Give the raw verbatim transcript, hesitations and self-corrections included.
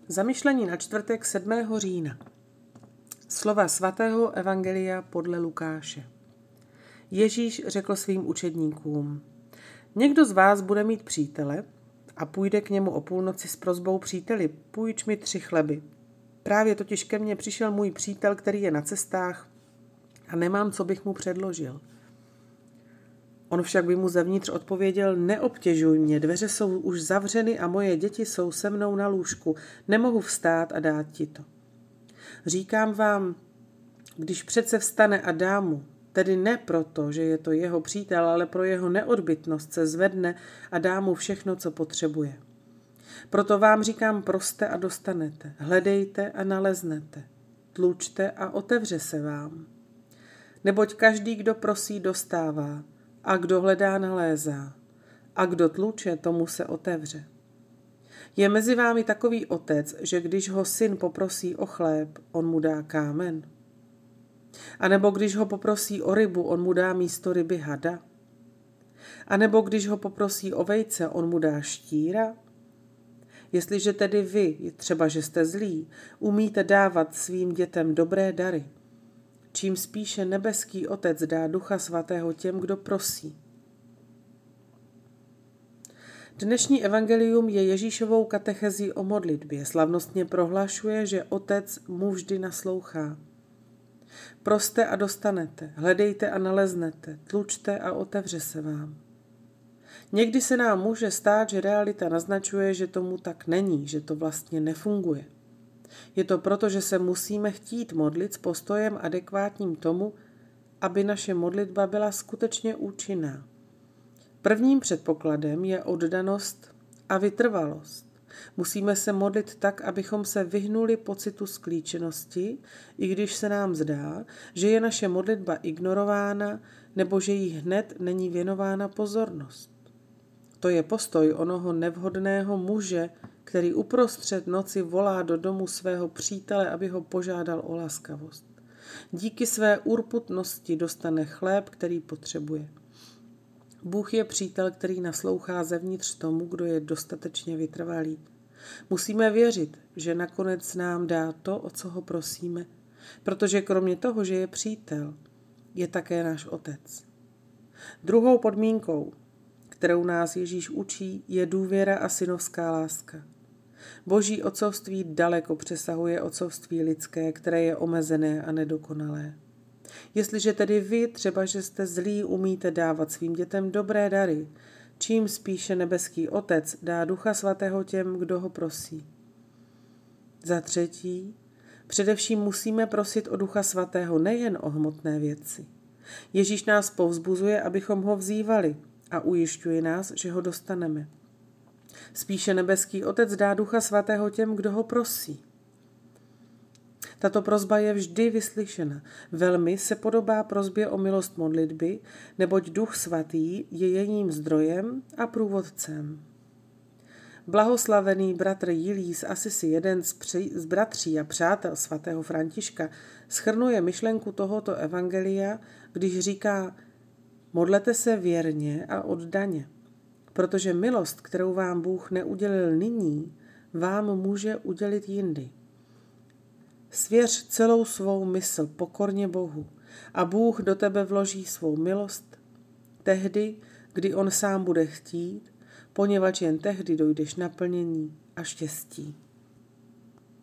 Zamyšlení na čtvrtek sedmého října. Slova svatého evangelia podle Lukáše. Ježíš řekl svým učedníkům: Někdo z vás bude mít přítele a půjde k němu o půlnoci s prosbou: Příteli, půjč mi tři chleby. Právě totiž ke mně přišel můj přítel, který je na cestách a nemám, co bych mu předložil. On však by mu zevnitř odpověděl: Neobtěžuj mě, dveře jsou už zavřeny a moje děti jsou se mnou na lůžku, nemohu vstát a dát ti to. Říkám vám, když přece vstane a dá mu, tedy ne proto, že je to jeho přítel, ale pro jeho neodbytnost, se zvedne a dá mu všechno, co potřebuje. Proto vám říkám, proste a dostanete, hledejte a naleznete, tlučte a otevře se vám. Neboť každý, kdo prosí, dostává, a kdo hledá, nalézá, a kdo tluče, tomu se otevře. Je mezi vámi takový otec, že když ho syn poprosí o chléb, on mu dá kámen? A nebo když ho poprosí o rybu, on mu dá místo ryby hada? A nebo když ho poprosí o vejce, on mu dá štíra? Jestliže tedy vy, třeba že jste zlí, umíte dávat svým dětem dobré dary, čím spíše nebeský Otec dá Ducha Svatého těm, kdo prosí. Dnešní evangelium je Ježíšovou katechezí o modlitbě. Slavnostně prohlašuje, že Otec mu vždy naslouchá. Proste a dostanete, hledejte a naleznete, tlučte a otevře se vám. Někdy se nám může stát, že realita naznačuje, že tomu tak není, že to vlastně nefunguje. Je to proto, že se musíme chtít modlit s postojem adekvátním tomu, aby naše modlitba byla skutečně účinná. Prvním předpokladem je oddanost a vytrvalost. Musíme se modlit tak, abychom se vyhnuli pocitu sklíčenosti, i když se nám zdá, že je naše modlitba ignorována nebo že jí hned není věnována pozornost. To je postoj onoho nevhodného muže, který uprostřed noci volá do domu svého přítele, aby ho požádal o laskavost. Díky své urputnosti dostane chléb, který potřebuje. Bůh je přítel, který naslouchá zevnitř tomu, kdo je dostatečně vytrvalý. Musíme věřit, že nakonec nám dá to, o co ho prosíme, protože kromě toho, že je přítel, je také náš Otec. Druhou podmínkou, kterou nás Ježíš učí, je důvěra a synovská láska. Boží otcovství daleko přesahuje otcovství lidské, které je omezené a nedokonalé. Jestliže tedy vy, třeba že jste zlí, umíte dávat svým dětem dobré dary, čím spíše nebeský Otec dá Ducha Svatého těm, kdo ho prosí. Za třetí, především musíme prosit o Ducha Svatého nejen o hmotné věci. Ježíš nás povzbuzuje, abychom ho vzývali, a ujišťuje nás, že ho dostaneme. Spíše nebeský Otec dá Ducha Svatého těm, kdo ho prosí. Tato prosba je vždy vyslyšena. Velmi se podobá prosbě o milost modlitby, neboť Duch Svatý je jejím zdrojem a průvodcem. Blahoslavený bratr Jilí z Asisi, jeden z, při, z bratří a přátel svatého Františka, shrnuje myšlenku tohoto evangelia, když říká: Modlete se věrně a oddaně, protože milost, kterou vám Bůh neudělil nyní, vám může udělit jindy. Svěř celou svou mysl pokorně Bohu a Bůh do tebe vloží svou milost tehdy, kdy on sám bude chtít, poněvadž jen tehdy dojdeš naplnění a štěstí.